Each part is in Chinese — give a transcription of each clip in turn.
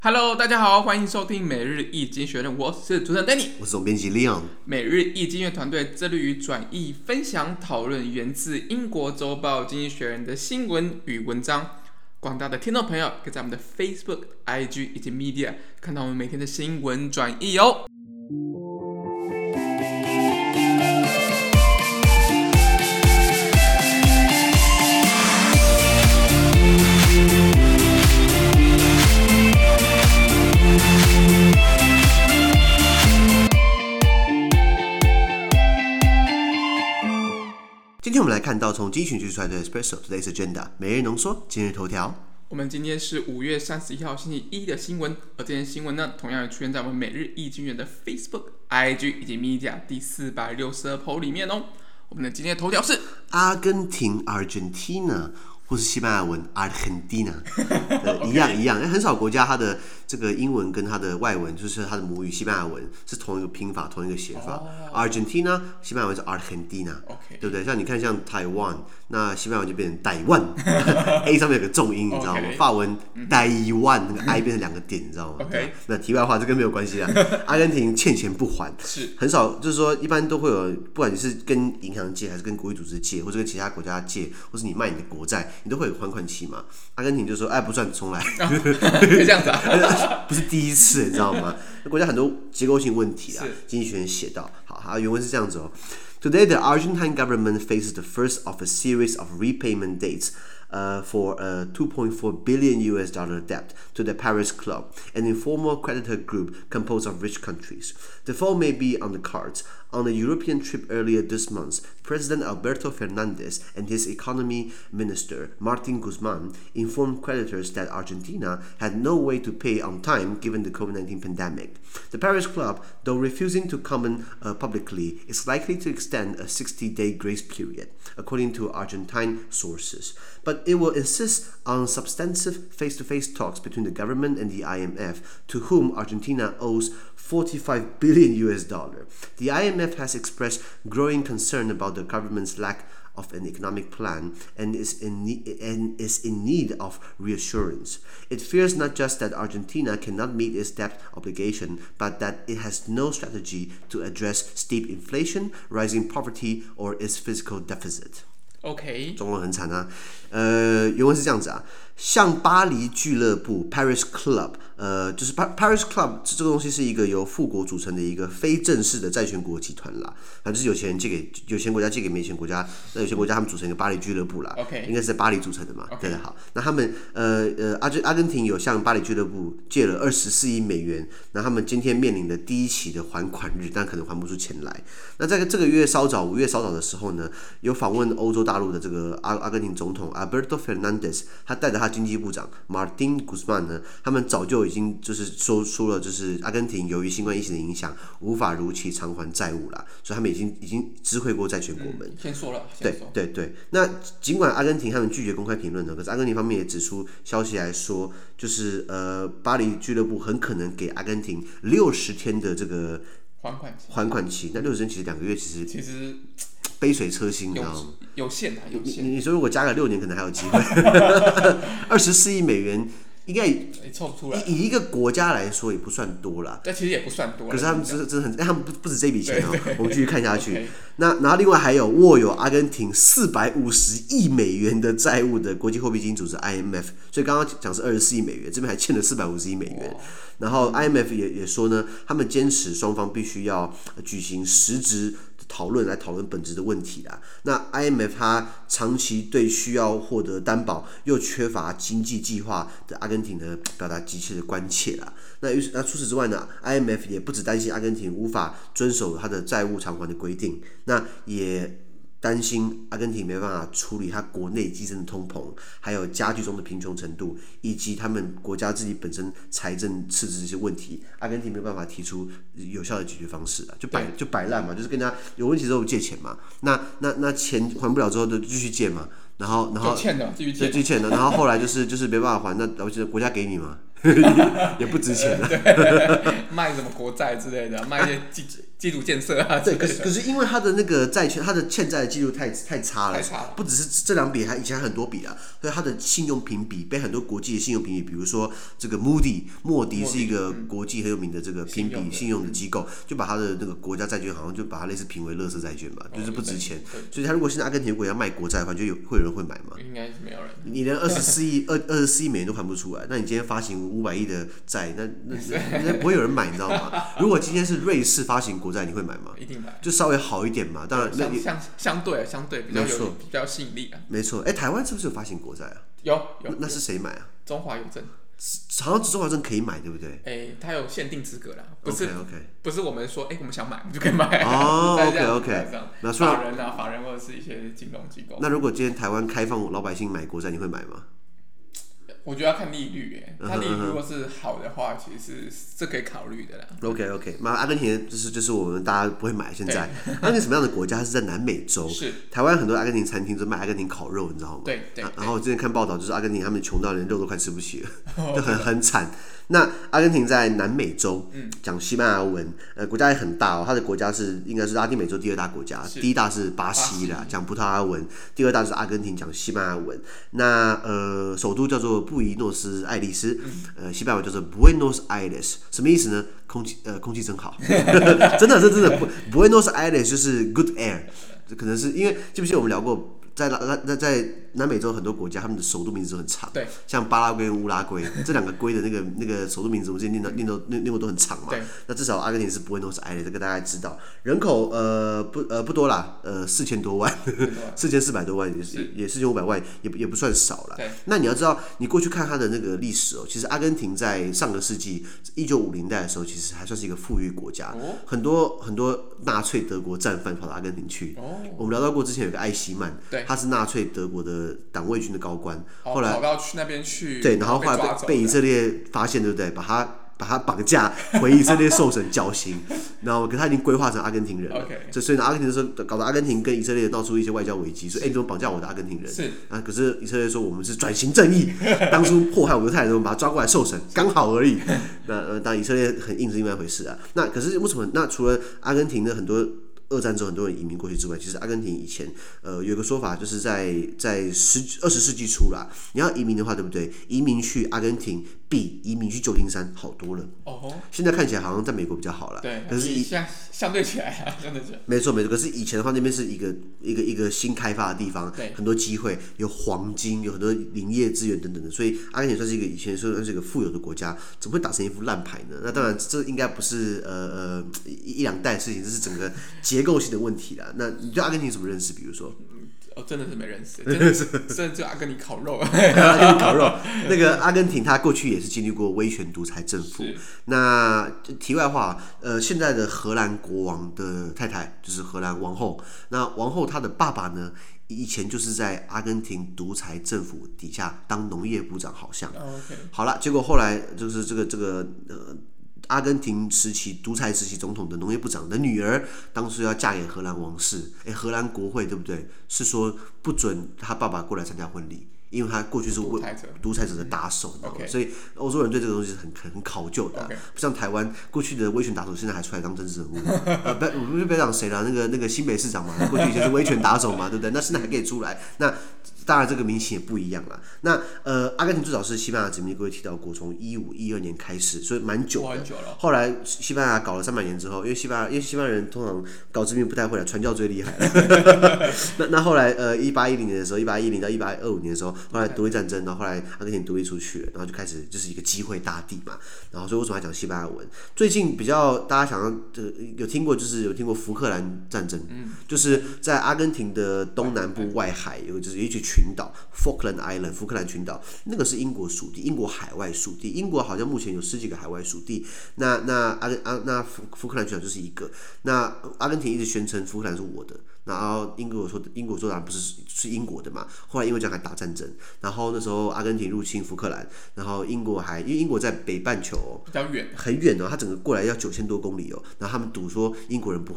Hello， 大家好，歡迎收聽每日一經學人，我是主持人 Danny， 我是總編輯 Leon。每日一經學團隊致力於轉譯、分享、討論源自英國週報《經濟學人》的新聞與文章。廣大的聽眾朋友可以在我們的 Facebook、IG 以及 Media 看到我們每天的新聞轉譯哦。 今天我們來看到從精選聚出來的 Espresso Today's Agenda 每日濃縮今日頭條。 我們今天是5月31號星期一的新聞，而這些新聞呢，同樣也出現在我們每日一經學的 Facebook、IG 以及 Media 第462 po 裡面哦。我們的今天的頭條是阿根廷 Argentina 或是西班牙文 Argentina 一樣，很少國家它的這個英文跟它的外文，就是它的母語西班牙文是同一個拼法、同一個寫法。Argentina 西班牙文是 Argentina， 對不對？像你看，像台灣，那西班牙文就變成台灣，A 上面有個重音，你知道嗎？法文台灣那個 I 變成2個點，你知道嗎？那題外話，這跟沒有關係啊。阿根廷欠錢不還，是很少，就是說一般都會有，不管你是跟銀行借，還是跟國際組織借，或者跟其他國家借，或是你賣你的國債，你都會有還款期嘛。阿根廷就說，哎，不算，重來。 可以這樣子啊？ 不是第一次，你知道嗎？國家很多結構性問題啊。經濟學人寫到，好，原文是這樣子哦。Today, the Argentine government faces the first of a series of repayment dates for a $2.4 billion debt to the Paris Club, an informal creditor group composed of rich countries. The fall may be on the cards. On a European trip earlier this month, President Alberto Fernandez and his economy minister, Martin Guzman, informed creditors that Argentina had no way to pay on time given the COVID-19 pandemic. The Paris Club, though refusing to comment publicly, is likely to extend a 60-day grace period, according to Argentine sources. But it will insist on substantive face-to-face talks between the government and the IMF, to whom Argentina owes $45 billion. The IMF has expressed growing concern about the government's lack of an economic plan and is in need of reassurance. It fears not just that Argentina cannot meet its debt obligation, but that it has no strategy to address steep inflation, rising poverty, or its fiscal deficit. OK， 中文很慘啊。原文是這樣子啊，像巴黎俱樂部 Paris Club， 就是 Paris Club 這個東西是一個由富國組成的一個非正式的債權國集團啦，就是有錢國家借給沒錢國家，那有錢國家他們組成一個巴黎俱樂部啦，應該是在巴黎組成的嘛，對的。好，那他們阿根廷有向巴黎俱樂部借了24億美元，那他們今天面臨的第一期的還款日，但可能還不出錢來。那在這個月稍早5月稍早的時候呢，有訪問歐洲大陸的這個阿根廷總統 Alberto Fernandez， 他帶着他經濟部長 Martin Guzman 呢，他們早就已經就是說出了，就是阿根廷由於新冠疫情的影響，無法如期償還債務啦，所以他們已經知會過債權國們。 先說了， 對。那儘管阿根廷他們拒絕公開評論呢，可是阿根廷方面也指出消息來說，就是巴黎俱樂部很可能給阿根廷60天的這個還款期。那60天其實2個月，其實杯水車薪，你知道嗎？ 有限。 你說如果加個6年，可能還有機會。24億美元應該湊不出來。以一個國家來說也不算多啦。 但其實也不算多。 可是他們真的很，他們不止這筆錢哦。我們繼續看下去。然後另外還有握有阿根廷450億美元的債務的國際貨幣基金組織 IMF， 所以剛剛講是24億美元，這邊還欠了450億美元。然後 IMF 也說呢，他們堅持雙方必須要舉行實質討論來討論本質的問題啦。那 IMF 它長期對需要獲得擔保又缺乏經濟計劃的阿根廷呢表達急切的關切啦。那除此之外呢 ，IMF 也不只擔心阿根廷無法遵守它的債務償還的規定，那也擔心阿根廷沒辦法處理它國內激增的通膨，還有加劇中的貧窮程度，以及他們國家自己本身財政赤字這些問題，阿根廷沒有辦法提出有效的解決方式啊，就擺爛嘛，就是跟他有問題之後借錢嘛，那錢還不了之後就繼續借嘛，然後欠的，繼續欠的，然後後來就是沒辦法還，那國家給你嘛。 也不值錢啊。 賣什麼國債之類的，賣一些基礎建設啊。 对，可是因為他的那個債券，他的欠債的記錄太差了，不只是這兩筆，以前還很多筆啊，所以他的信用評比被很多國際的信用評比，比如說這個莫迪是一個國際很有名的這個評比信用的機構，就把他的那個國家債券好像就把它類似評為垃圾債券吧，就是不值錢。所以他如果現在阿根廷如果要賣國債的話，就會有人會買嗎？ 應該是沒有人。 你連24億美元都還不出來，那你今天發行500億的債，那不會有人買，你知道嗎？如果今天是瑞士發行國債，你會買嗎？ 一定買， 就稍微好一點嘛。当然， 相对比較吸引力啊。 没错，台灣是不是有發行國債啊？ 有。 那是誰買啊？ 中華郵政。 好像中華郵政可以買，對不對？ 它有限定資格啦，不是我們說，我們想買，我們就可以買。 哦 ，OK。那法人或者是一些金融機構。 那如果今天台灣開放老百姓買國債，你會買嗎？ 我覺得要看利率，它利率如果是好的話，其實是可以考慮的啦。 OK， 那阿根廷就是我們大家不會買。現在阿根廷什麼樣的國家？它是在南美洲。 是。台灣很多阿根廷餐廳都賣阿根廷烤肉，你知道嗎？ 对。 然後之前看報道，就是阿根廷他們窮到連肉都快吃不起了，就很慘。那阿根廷在南美洲，講西班牙文，國家也很大哦。它的國家應該是拉丁美洲第2大國家，第1大是巴西啦，講葡萄牙文；第2大是阿根廷，講西班牙文。那首都叫做布宜諾斯艾利斯，西班牙文叫做 Buenos Aires， 什麼意思呢？空氣真好，真的，Buenos Aires 就是 good air， 可能是因為記不記得我們聊過，在南美洲很多國家，他們的首都名字都很長， 对， 像巴拉圭跟烏拉圭這2個圭的那個首都名字，我们之前念过都很長嘛。那至少阿根廷是Buenos Aires，這個大家知道。人口不多啦，4000多萬，4400多萬，也4500萬，也不算少啦。那你要知道，你過去看它的那個歷史其實阿根廷在上個世紀1950年代的時候，其實還算是一個富裕國家，很多納粹德國戰犯跑到阿根廷去。我們聊到過之前有個艾希曼，他是納粹德國的黨衛軍的高官，後來跑到去那邊去， 对，然後後來被以色列發現，對不對？把他綁架回以色列受審絞刑，然後可是他已經規劃成阿根廷人了，所以呢，阿根廷的時候搞到阿根廷跟以色列鬧出一些外交危機，說你怎麼綁架我的阿根廷人？是啊，可是以色列說我們是轉型正義，當初迫害猶太人，我們把他抓過來受審，剛好而已。那當然以色列很硬是另外一回事啊。那可是為什麼？那除了阿根廷的很多二戰之後很多人移民過去之外，其實阿根廷以前有個說法，就是在20世紀初啦，你要移民的話，對不對？移民去阿根廷比移民去舊金山好多了。現在看起來好像在美國比較好啦。 對，可是相對起來啊，相对起来。 沒錯。可是以前的話，那邊是一個新開發的地方，很多機會，有黃金，有很多林業資源等等的，所以阿根廷算是以前算是一個富有的國家，怎麼會打成一副爛牌呢？那當然，這應該不是一兩代的事情，這是整個結構性的問題啦。那你對阿根廷有什麼認識？比如說， 真的是沒認識，真的就阿根廷烤肉。 阿根廷烤肉，那個阿根廷，它過去也是經歷過威權獨裁政府。那題外話，現在的荷蘭國王的太太就是荷蘭王後。那王後她的爸爸呢，以前就是在阿根廷獨裁政府底下當農業部長，好像。好了，結果後來就是這個阿根廷時期獨裁時期總統的農業部長的女兒，當初要嫁給荷蘭王室，荷蘭國會對不對？是說不准他爸爸過來參加婚禮，因為他過去是獨裁者的打手，所以歐洲人對這個東西是很考究的，不像台灣過去的威權打手，現在還出來當政治人物。不要講誰了，那個新北市長嘛，過去以前是威權打手嘛，對不對？那現在還可以出來，那當然這個民情也不一樣了。那阿根廷最早是西班牙殖民，各位提到過，從1512年開始，所以蠻久的。後來西班牙搞了300年之後，因為西班牙人通常搞殖民不太會了，傳教最厲害了。那後來1810年的時候，1810到1825年的時候，後來獨立戰爭，然後後來阿根廷獨立出去了，然後就開始就是一個機會大地嘛。然後所以為什麼要講西班牙文？最近比較大家想要有聽過福克蘭戰爭，就是在阿根廷的東南部外海有一群群島 Falkland Island 福克蘭群島，那個是英國屬地，英國海外屬地。英國好像目前有10幾個海外屬地，那福克蘭群島就是一個。那阿根廷一直宣稱福克蘭是我的，然後英國說當然不是英國的嘛。後來因為這樣還打戰爭，然後那時候阿根廷入侵福克蘭，然後因為英國在北半球比較遠，很遠哦，他整個過來要9000多公里哦，然後他們賭說英國人不會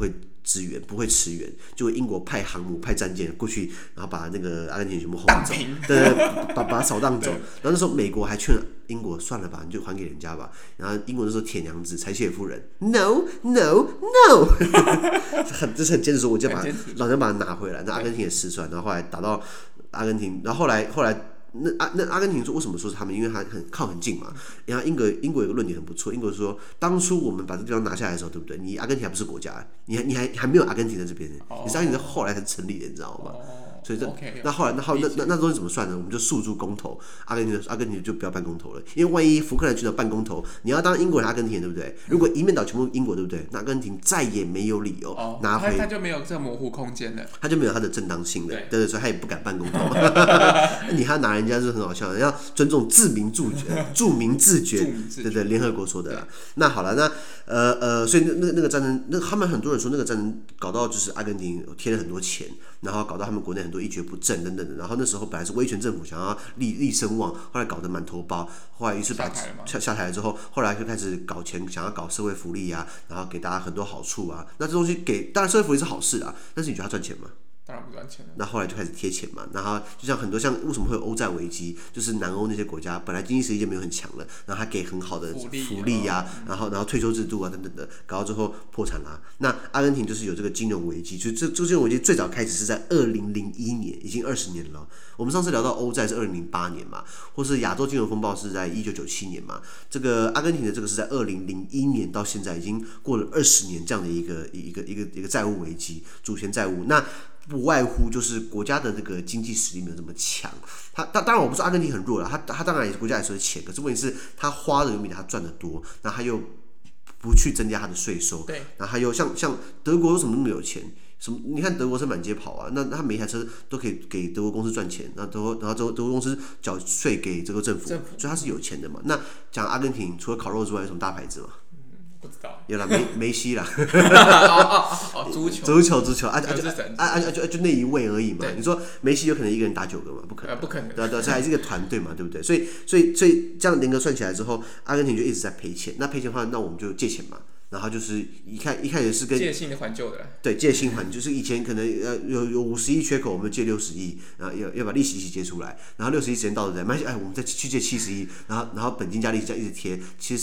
支援，不會馳援，就英國派航母、派戰艦過去，然後把那個阿根廷全部轟走，對，把它掃蕩走。然後那時候美國還勸英國算了吧，你就還給人家吧。然後英國那時候鐵娘子柴契尔夫人 ，no no no， 这是很坚持说，我就老娘把它拿回来。那阿根廷也失算，然後後來打到阿根廷，然後後来。那阿根廷说为什麼說是他們？因為他靠很近嘛。然後英國有個論點很不錯，英國說當初我們把這個地方拿下來的時候，對不對？你阿根廷還不是國家，你還沒有阿根廷在這邊，你是阿根廷是後來才成立的，你知道嗎？所以那後來那東西怎麼算呢？我們就訴諸公投，阿根廷就不要辦公投了，因為萬一福克蘭群島辦公投，你要當英國人阿根廷人，對不對？如果一面倒全部英國，對不對？那阿根廷再也沒有理由拿回， 他就沒有這個模糊空間了，他就沒有他的正當性了，對，所以他也不敢辦公投。你還拿人家是很好笑的，要尊重自民自決，对对，联合國說的啦。那好了，那所以那個戰爭，他們很多人說那個戰爭搞到就是阿根廷貼了很多錢，然後搞到他們國內很多一蹶不振等等的。然後那時候本來是威權政府想要立聲望，後來搞得滿頭包，後來於是把下台了之後，後來就開始搞錢，想要搞社會福利啊，然後給大家很多好處啊。那這東西當然社會福利是好事啊，但是你覺得他賺錢嗎？ 當然不賺錢了。 那後來就開始貼錢嘛，然後就像很多為什麼會有歐債危機，就是南歐那些國家本來經濟實力就沒有很強了，然後他給很好的福利啊，然後退休制度啊等等的，搞到最後破產啦。那阿根廷就是有這個金融危機，就這金融危機最早開始是在2001年，已經20年了。我們上次聊到歐債是2008年嘛，或是亞洲金融風暴是在1997年嘛，這個阿根廷的這個是在2001年到現在已經過了20年這樣的一個債務危機，主權債務。那不外乎就是國家的這個經濟實力沒有這麼強，他當然我不說阿根廷很弱了，他當然也是國家也是錢，可是問題是他花的遠比他賺的多，那他又不去增加他的稅收，對，然後他又像德國為什麼那麼有錢？什麼？你看德國車滿街跑啊，那他每一台車都可以給德國公司賺錢，然後德國公司繳稅給這個政府，所以他是有錢的嘛。那講阿根廷除了烤肉之外，有什麼大牌子嗎？ 不知道， 有啦，梅西啦，足球就那一位而已嘛。你說梅西有可能一個人打9個嗎？不可能，不可能。對，這還是一個團隊嘛，對不對？所以這樣聯合算起來之後，阿根廷就一直在賠錢。那賠錢的話，那我們就借錢嘛。然後就是一開始是跟借新的還舊的啦， 對，借新還，就是以前可能有50億缺口，我們借60億，然後要把利息一起借出來，然後60億時間到了再，我們再去借70億，然後本金加利息這樣一直貼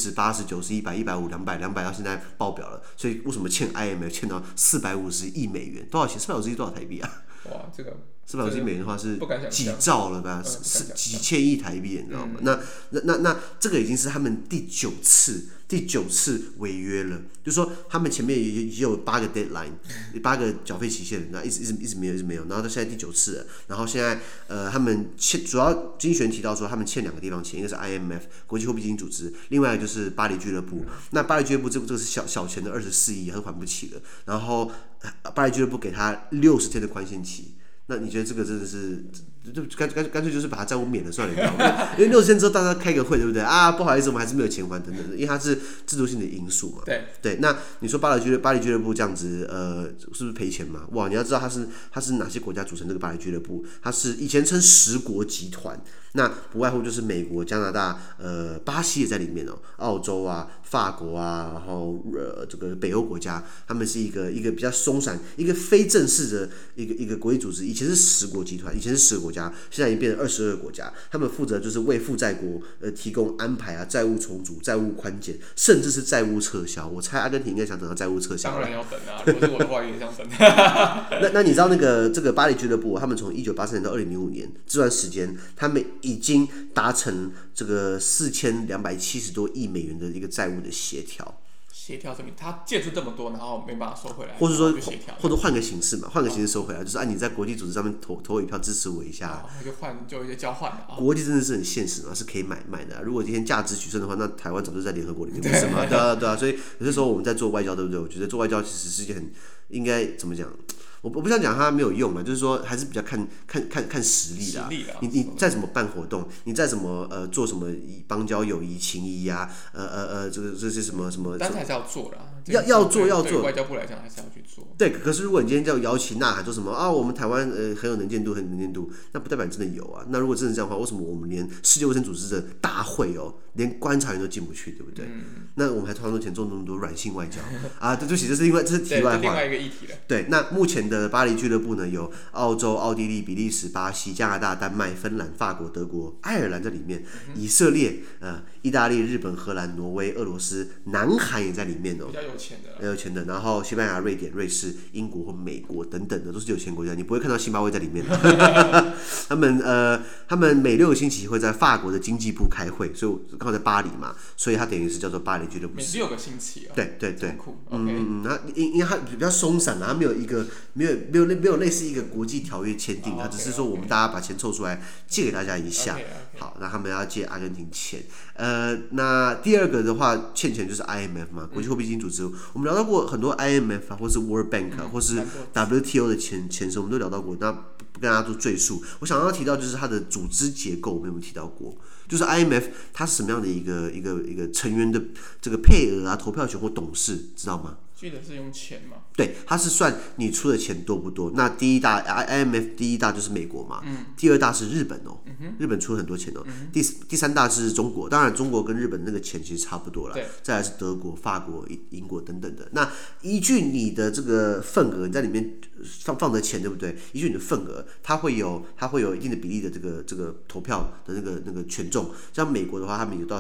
，70、80、90、100、150、200到現在爆表了，所以為什麼欠 IMF 欠到450億美元？多少錢？450億多少台幣啊？哇，這個450億美元的話是幾兆了吧？是幾千億台幣，你知道嗎？那這個已經是他們第9次違約了，就是說他們前面也有8個 deadline，8個繳費期限，那一直沒有，然後到現在第9次了，然後現在他們主要經濟學人提到說他們欠2個地方錢，一個是 IMF 國際貨幣基金組織，另外一個就是巴黎俱樂部。那巴黎俱樂部這個是小錢的24億，他都還不起了，然後巴黎俱樂部給他60天的寬限期。那你覺得這個真的是，就乾脆就是把他債務免了算了，你知道嗎？因為60天之後大家開個會，對不對啊？不好意思，我們還是沒有錢還等等的，因為它是制度性的因素嘛。對。那你說巴黎俱樂部這樣子，是不是賠錢嘛？哇，你要知道它是哪些國家組成這個巴黎俱樂部？它是以前稱10國集團，那不外乎就是美國、加拿大、巴西也在裡面哦，澳洲啊、法國啊，然後這個北歐國家，他們是一個比較鬆散、一個非正式的一個國際組織。以前是10國集團，以前是10個國家，現在已經變成22個國家。他們負責就是為負債國提供安排啊，債務重組、債務寬減，甚至是債務撤銷。我猜阿根廷應該想等到債務撤銷。當然要等啊，如果是我的話也想等。那你知道這個巴黎俱樂部，他們從1983年到2005年這段時間，他們已經達成這個4270多億美元的一個債務的協調。 協調證明他借出這麼多，然後沒辦法收回來， 或者說或者換個形式嘛，換個形式收回來，就是你在國際組織上面投一票支持我一下，就有一些交換嘛。國際真的是很現實嘛，是可以買的啊。如果今天價值取勝的話，那台灣早就在聯合國裡面，不是嗎？對啊。所以有些時候我們在做外交，對不對？我覺得做外交其實是一件很應該怎麼講？ 我不想講它沒有用了，就是說還是比較看實力啦。你再怎麼辦活動，你再怎麼做什麼邦交友誼情誼啊，這些什麼， 但是還是要做啦。 要做。 對外交部來講，還是要去做。 對，可是如果你今天叫搖旗吶喊說什麼啊，我們台灣很有能見度，那不代表你真的有啊。那如果真的這樣的話，為什麼我們連世界衛生組織的大會連觀察員都進不去，对不对？那我們還花那麼多錢做那麼多軟性外交啊？对不起，這是題外話， 另外一個議題了。 對，那目前的巴黎俱樂部呢，有澳洲、奧地利、比利時、巴西、加拿大、丹麥、芬蘭、法國、德國、愛爾蘭在裡面，以色列、意大利、日本、荷蘭、挪威、俄羅斯、南韓也在裡面比較有錢的。 有錢的，然後西班牙、瑞典、瑞士、英國或美國等等的都是有钱國家，你不會看到辛巴威在裡面。他們每6個星期會在法國的經濟部開會，所以剛好在巴黎嘛，所以它等於是叫做巴黎俱樂部。 每6個星期哦。 對， 那因为它比較鬆散啦，它沒有類似一個國際條約簽訂，它只是說我們大家把錢湊出來借給大家一下。好，那他們要借阿根廷錢。那第二個的話欠錢就是 IMF 嘛，國際貨幣基金組織。我們聊到過很多 IMF 啊，或是 World Bank 啊，或是 WTO 的前身，我們都聊到過。那不跟大家做贅述，我想要提到就是它的組織結構，我們有沒有提到過？就是 IMF 它是什麼樣的一個成員的這個配額啊、投票權或董事，知道嗎？ 記得是用錢嘛？ 對，它是算你出的錢多不多。那第一大 IMF 第一大就是美國嘛，第二大是日本哦，日本出了很多錢哦。第三大是中國，當然中國跟日本那個錢其實差不多了。再來是德國、法國、英國等等的。那依據你的這個份額，你在裡面放的錢對不對？依據你的份額，它會有一定的比例的這個投票的那個權重。像美國的話，他們有到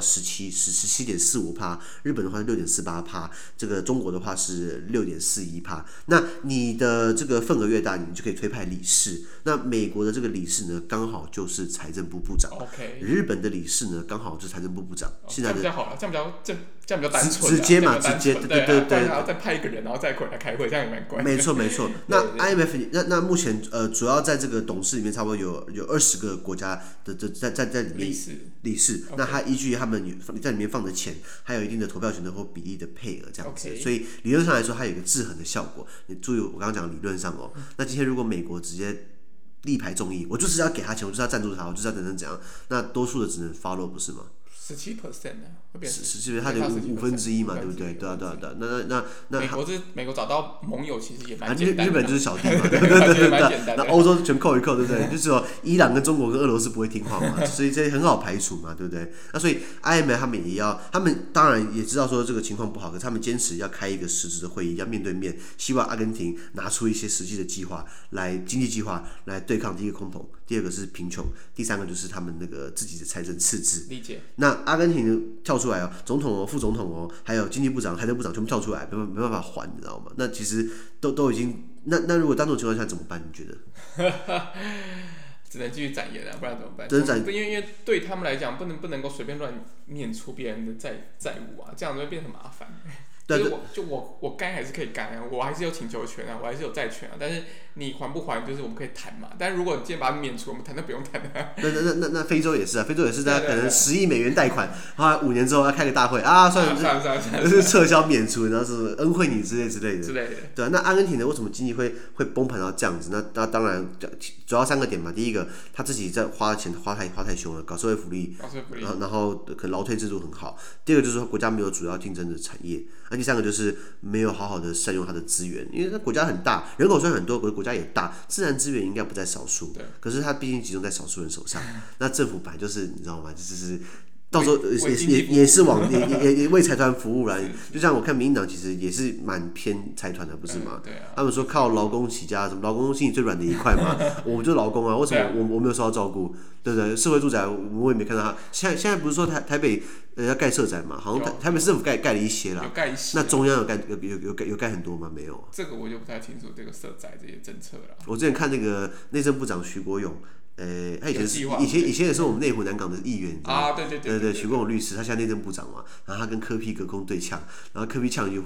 17.45%，日本的話是6.48%，這個中國的話是6.41%。那你的這個份額越大，你就可以推派理事。那美國的這個理事呢，剛好就是財政部部長。日本的理事呢，剛好就是財政部部長。現在這樣比較好了，這樣比較單純。 直接嘛，直接對。 然後再派一個人，然後再過來開會，這樣也蠻乖。 沒錯。那 IMF 那目前主要在這個董事裡面，差不多有20個國家的在裡面理事。那他依據他們在裡面放的錢，還有一定的投票權的或比例的配額這樣子。所以理論上來說，它有一個制衡的效果。你注意我剛剛講的理論上哦。那今天如果美國直接力排眾議，我就是要給他錢，我就是要贊助他，我就是要怎樣，那多數的只能 follow 不是嗎 ？17%呢？會變 17%，它的1/5嘛，對不對？對。那美國找到盟友其實也蠻簡單的。 日本就是小弟嘛，對。那歐洲全扣一扣，對不對？就是說伊朗跟中國跟俄羅斯不會聽話嘛，所以這很好排除嘛，對不對？那所以 IMF 他們也要，他們當然也知道說這個情況不好，可是他們堅持要開一個實質的會議，要面對面，希望阿根廷拿出一些實際的計劃經濟計劃來對抗第一個空頭，第二個是貧窮，第三個就是他們那個自己的財政赤字。 理解。 那阿根廷跳出來哦，總統哦、副總統哦，還有經濟部長、財政部長全部跳出來，沒辦法還，你知道嗎？那其實都已經，那如果當這種情況下怎麼辦？你覺得？ 只能繼續展延了，不然怎麼辦？因為對他們來講，不能夠隨便亂念出別人的債務啊，這樣子會變得很麻煩。就是我該還是可以幹啊，我還是有請求權啊，我還是有債權啊，但是你還不還，就是我們可以談嘛。但是如果你今天把它免除，我們談都不用談了。 那非洲也是啊，非洲也是，大家可能10億美元貸款，然後5年之後要開個大會啊，算了，撤銷免除，然後是恩惠你之類的。對啊，那阿根廷呢？為什麼經濟會崩盤到這樣子？那當然主要3個點嘛。第一個，他自己在花錢花太凶了，搞社會福利，然後可能勞退制度很好。第二個就是說國家沒有主要競爭的產業。那第三個就是沒有好好的善用它的資源，因為它國家很大，人口雖然很多，可是國家也大，自然資源應該不在少數。可是它畢竟集中在少數人手上。那政府本來就是你知道嗎？就是到時候也是也為財團服務啦。就像我看民進黨其實也是蠻偏財團的，不是嗎？他們說靠勞工起家，什麼勞工心裡最軟的一塊嘛。我們就是勞工啊，為什麼我沒有受到照顧？對不對？社會住宅我也沒看到他。現在不是說台北要蓋社宅嘛？好像台北市政府蓋了一些啦。有蓋一些。那中央有蓋很多嗎？沒有。這個我就不太清楚這個社宅這些政策了。我之前看那個內政部長徐國勇。他以前也是我們內湖南港的議員啊，對，徐國勇律師，他現在內政部長嘛，然後他跟柯 P 隔空對嗆，然後柯 P 嗆一句話，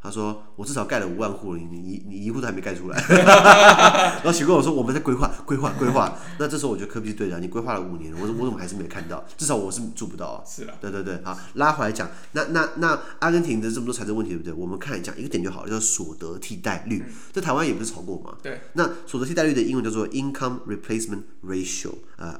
他說我至少蓋了5萬戶了，你1戶都還沒蓋出來。然後許跟我說我們在規劃。那這時候我覺得柯 P 是對的，你規劃了5年，我怎麼還是沒有看到？至少我是做不到啊。 是啦。 对，好，拉回來講，那阿根廷的這麼多財政問題，對不对？我們看講一個點就好了，叫所得替代率。在台灣也不是炒過嘛。 对。 那所得替代率的英文叫做 Income Replacement Ratio，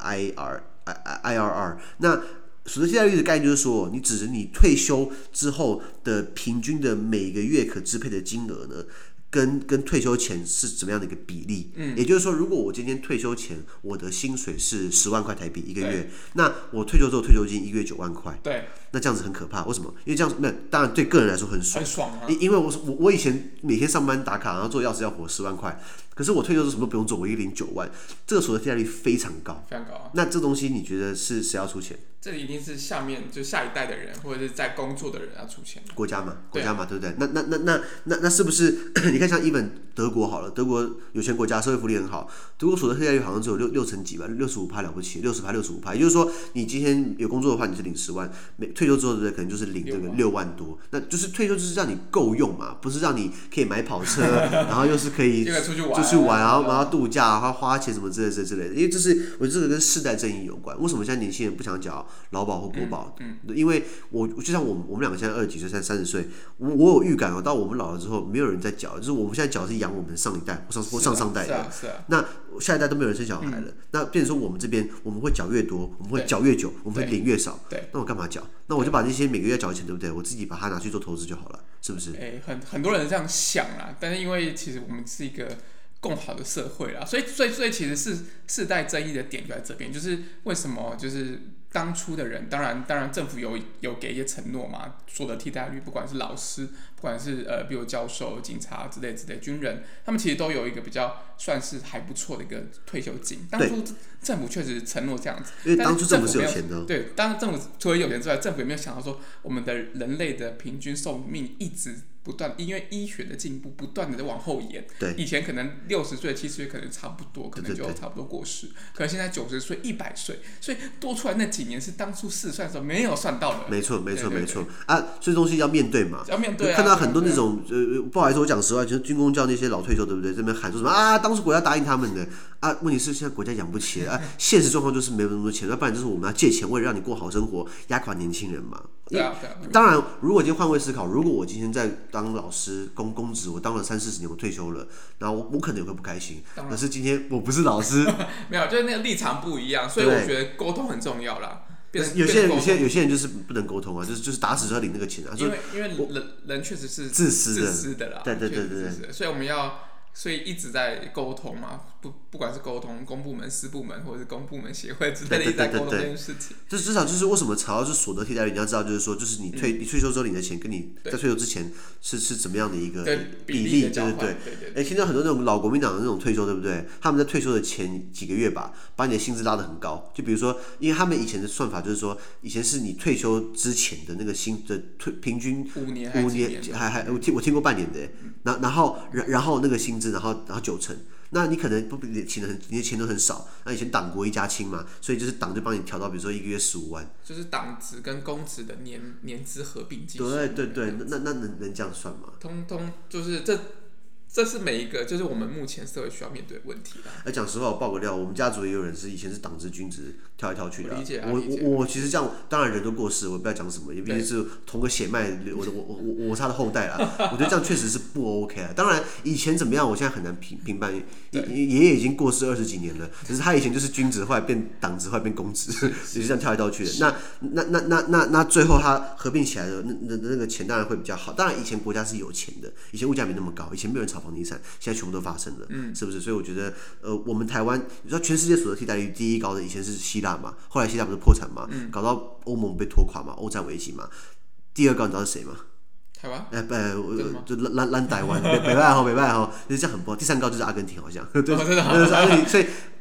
IRR。那所得替代率的概念就是说，你指着你退休之後的平均的每個月可支配的金額呢，跟退休前是怎麼樣的一個比例？也就是說，如果我今天退休前我的薪水是10萬塊台幣一個月，那我退休之後退休金1個月9萬塊， 對，那這樣子很可怕。為什麼？因為這樣子，那當然對個人來說很爽， 啊。 因為我以前每天上班打卡，然後做要死要活10萬塊，可是我退休之後什麼都不用做，我一個領9萬，這個所得替代率非常高， 非常高。 那這東西你覺得是誰要出錢？ 這裡一定是下一代的人，或者是在工作的人要出錢。國家嘛， 對不对？那是不是？你看像even德國好了，德國有錢國家，社會福利很好，德國所得替代率好像只有6成幾吧，65%了不起，60%、65%。也就是說，你今天有工作的話，你是領10萬，退休之後对不对？可能就是領這個6萬多。那就是退休就是讓你夠用嘛，不是讓你可以買跑車，然後又是可以出去玩，然後度假，然後花錢什麼之類的。因為我觉得這個跟世代正義有關。為什麼現在年輕人不想繳勞保或國保？因為就像我們兩個現在20幾歲、30歲，我有預感到我們老了之後，沒有人在繳，就是我們現在繳是養我們上一代或上代的。那下一代都沒有人生小孩了，那變成說我們這邊我們會繳越多，我們會繳越久，我們會領越少。那我幹嘛繳？那我就把那些每個月繳的錢，對不對？我自己把它拿去做投資就好了，是不是？ 很多人這樣想啦，但是因為其實我們是一個更好的社會啦，所以其實是世代爭議的點就在這邊，就是為什麼就是當初的人，当然政府有給一些承諾嘛，所得替代率，不管是老師，不管是比如教授、警察之類，軍人，他們其實都有一個比較算是還不錯的一個退休金。當初政府確實承諾這樣子， 因為當初政府是有錢的。 對，當政府除了有錢之外，政府也沒有想到說我們的人類的平均壽命一直不斷，因為醫學的進步不斷的在往後延。 对， 以前可能60岁、70岁可能差不多，可能就差不多過世。可是现在90岁、100岁，所以多出來那幾年是當初試算的時候沒有算到的。 沒錯啊，所以東西要面對嘛。 要面對啊。 看到很多那種不好意思，我講實話，就是軍公教那些老退休，對不對？這邊喊說什麼啊？當初國家答應他們的啊，問題是現在國家養不起啊，現實狀況就是沒有那麼多錢，要不然就是我們要借錢，為了讓你過好生活，壓垮年輕人嘛。當然，如果今天換位思考，如果我今天在當老師公職，我當了30-40年，我退休了，然後我可能也會不開心。可是今天我不是老師， 沒有，就是那個立場不一樣，所以我覺得溝通很重要啦。 有些人就是不能溝通啊，就是打死就要領那個錢啊。 因為人確實是自私的啦。 對， 所以所以一直在溝通嘛，不管是溝通公部門、私部門，或者是公部门協會之類的，一直在溝通這件事情。 就是至少就是為什麼吵到是所得替代率，你要知道就是說，就是你退休之後領的錢，跟你在退休之前是怎麼樣的一個比例，對。聽到很多那種老國民黨的那種退休，對不對？他們在退休的前幾個月吧，把你的薪資拉得很高。就比如說，因為他們以前的算法就是說，以前是你退休之前的那个薪的平均5年，我聽過半年的，然後那個薪資，然後9成。那你可能你的錢都很少，那以前黨國一家親嘛，所以就是黨就幫你調到，比如說1個月15萬， 就是黨職跟公職的年資合併計算。 對，那能這樣算嗎？ 通就是這是每一個就是我們目前社會需要面對的問題啦。 講實話，我爆個料，我們家族也有人是以前是黨職軍職跳來跳去的。 我理解。 我其實這樣，當然人都過世，我不要講什麼，也畢竟是同個血脈，我是他的後代啦。我覺得這樣確實是不 OK 啊。當然以前怎麼樣，我現在很難評判。爺爺已經過世20幾年了，只是他以前就是軍職，後來變黨職，後來變公職，也是這樣跳來跳去的。那最後他合併起來的那個錢當然會比較好。當然以前國家是有錢的，以前物價沒那麼高，以前沒有人炒房地產，現在全部都發生了，是不是？所以我覺得，我們台灣，你知道全世界所得替代率第一高的以前是希臘嘛，後來希臘不是破產嘛，搞到歐盟被拖垮嘛，歐債危機嘛。第二高你知道是誰嗎？ 台灣？ 就爛台灣，北拜吼，就是這樣很不好。第三高就是阿根廷，好像，對， 真的。 阿根廷，所以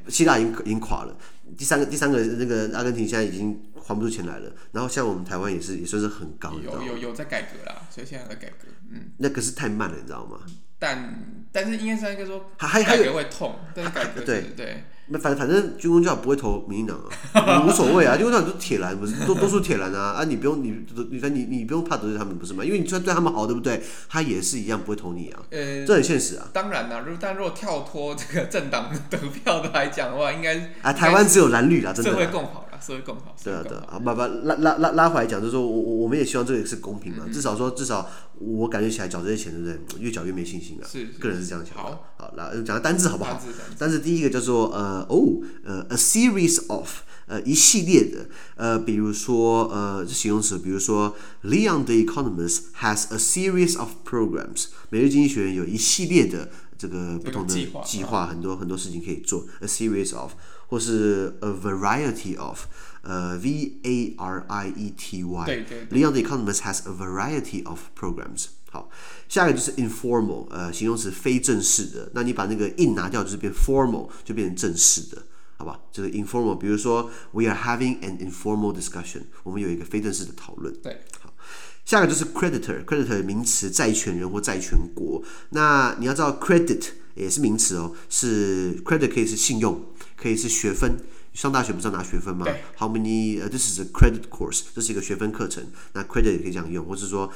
希臘已經垮了，第三個那個阿根廷現在已經還不出錢來了，然後像我們台灣也算是很高， 有在改革啦，所以现在在改革， 那可是太慢了，你知道嗎？ 但是应该是说改革会痛，但是改革对。 反正军公教不会投民進党啊，无所謂啊，军公教都鐵藍，不是多數鐵藍啊，你不用你不用怕得罪他們，不是嗎？因為你就算對他們好，對不對？他也是一樣不會投你啊，這很現實啊。 當然啦，但如果跳脫這個政黨得票的來講的話，應該台灣只有藍綠啦，真的。 社會共好啦，社會共好。 對啊，拉回來講，就是說我們也希望這個是公平嘛，至少我感覺起來繳這些錢，對不對？越繳越沒信心了。是，個人是這樣想的。好，來講單字好不好？單字第一個叫做a series of 一系列的比如說是形容詞，比如說 Leon the Economist has a series of programs， 每日經濟學人有一系列的這個不同的計劃，很多事情可以做 a series of， 或是 a variety of variety。 對 Leon the Economist has a variety of programs。好，下一個就是 informal， 形容詞非正式的，那你把那個 in 拿掉，就是变 formal， 就变成正式的，好吧？这个 informal， 比如说 we are having an informal discussion， 我们有一個非正式的討論。 對， 好，下一個就是 creditor 名詞，債權人或債權國。那你要知道 credit 也是名詞哦，是 credit 可以是信用，可以是學分。上大學不是要拿學分嗎？ How many this is a credit course， 這是一個學分課程。那 credit 也可以這樣用，或是說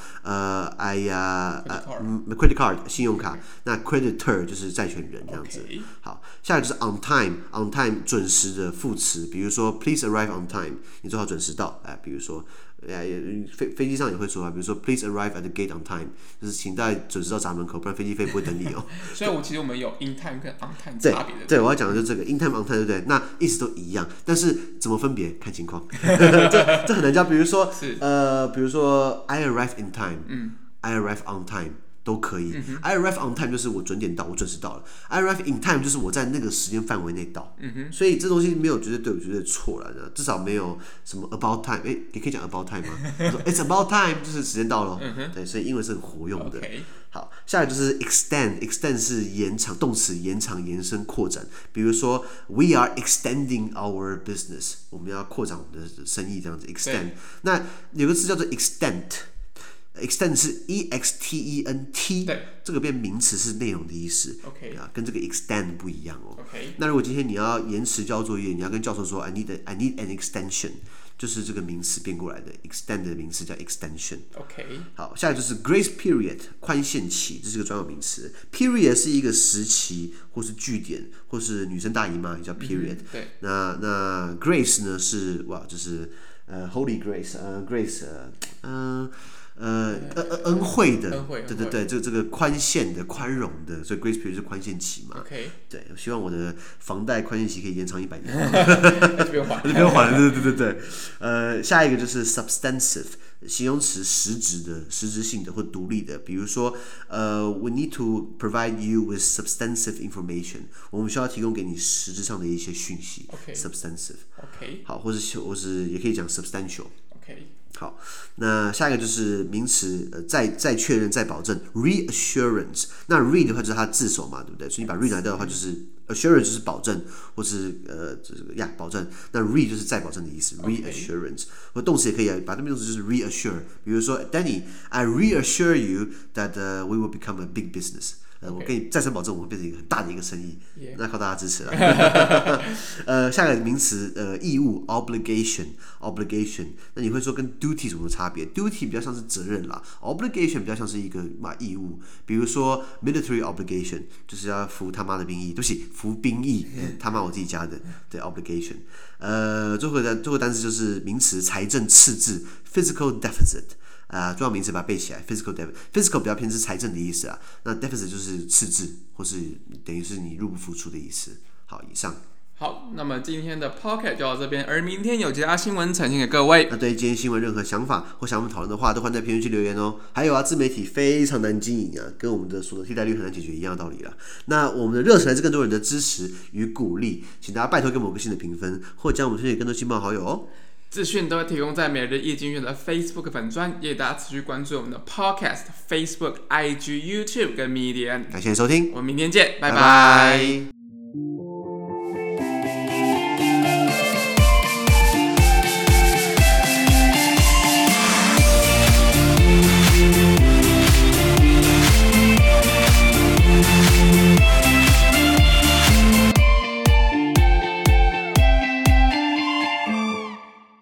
credit card 信用卡，那 creditor 就是債權人這樣子。好，下一個就是 on time 準時的副詞，比如說 please arrive on time， 你最好準時到。比如說飛機上也會說啊，比如說 please arrive at the gate on time， 就是請大家準時到閘門口，不然飛機不會等你哦。所以其實我們有 in time 跟 on time 差別的。 對，我要講的就是這個 in time on time， 對不對？那意思都一樣，但是怎麼分別看情況。這很難講。比如說 I arrive in time，I arrive on time。都可以。I arrive on time 就是我準點到，我準時到了。I arrive in time 就是我在那個時間範圍內到。所以這東西沒有絕對對，絕對錯了，至少沒有什麼 about time。你可以講 about time 嗎？It's about time 就是時間到了。對，所以英文是很活用的。好，下來就是 extend 是延長，動詞延長、延伸、擴展。比如說 we are extending our business， 我們要擴展我們的生意，這樣子 extend。那有個詞叫做 extent。extend 是 extent， 這個變名詞是內容的意思。跟這個 extend 不一樣哦。那如果今天你要延遲交作業，你要跟教授說 I need an extension， 就是這個名詞變過來的 extend 的名詞叫 extension。好，下來就是 grace period 寬限期，這是個專有名詞。period 是一個時期或是句點，或是女生大姨媽也叫 period。那 grace 呢是就是Holy Grace，grace 恩惠的，对，这個寬限的、寬容的，所以 grace period 是寬限期嘛。對，我希望我的房貸寬限期可以延長100年。就不用還了，對。下一個就是 substantive， 形容詞實質的、實質性的或獨立的，比如說we need to provide you with substantive information， 我們需要提供給你實質上的一些訊息。substantive。好，或是也可以講 substantial。好，那下一個就是名詞，再確認、再保證 reassurance。那 re 的話就是它字首嘛，對不對？所以你把 re 拿掉的話，就是 assurance 就是保證，或是保證。那 re 就是再保證的意思 ，reassurance。或動詞也可以把它變成就是 reassure。比如說 Danny，I reassure you that we will become a big business。我跟你再三保證，我会变成一個很大的一個生意，那靠大家支持了。下個名詞義務 obligation， 那你會說跟 duty 什麼差別 ？duty 比較像是責任啦 ，obligation 比較像是一個義務。比如說 military obligation 就是要服他媽的兵役，對不起，服兵役，他媽我自己加的，對 obligation。最後個單詞就是名詞財政赤字 physical deficit。重要名詞把它背起來 ，physical deficit，physical 比較偏是財政的意思啊，那 deficit 就是赤字，或是等於是你入不敷出的意思。好，以上。 好，那麼今天的 podcast 就到這邊，而明天有其他新聞呈現給各位。 那對於今天新聞任何想法或想我們討論的話，都歡迎在評論區留言哦。還有啊，自媒體非常難經營啊，跟我們的所得替代率很難解決一樣的道理啦。那我們的熱忱來自更多人的支持與鼓勵，請大家拜託給我們個新的評分，或將我們推薦給更多親朋好友哦。 資訊都會提供在每日一經濟學的 Facebook 粉專，也大家持續關注我們的 Podcast、Facebook、IG、YouTube 跟 Medium。 感謝收聽， 我們明天見，拜拜。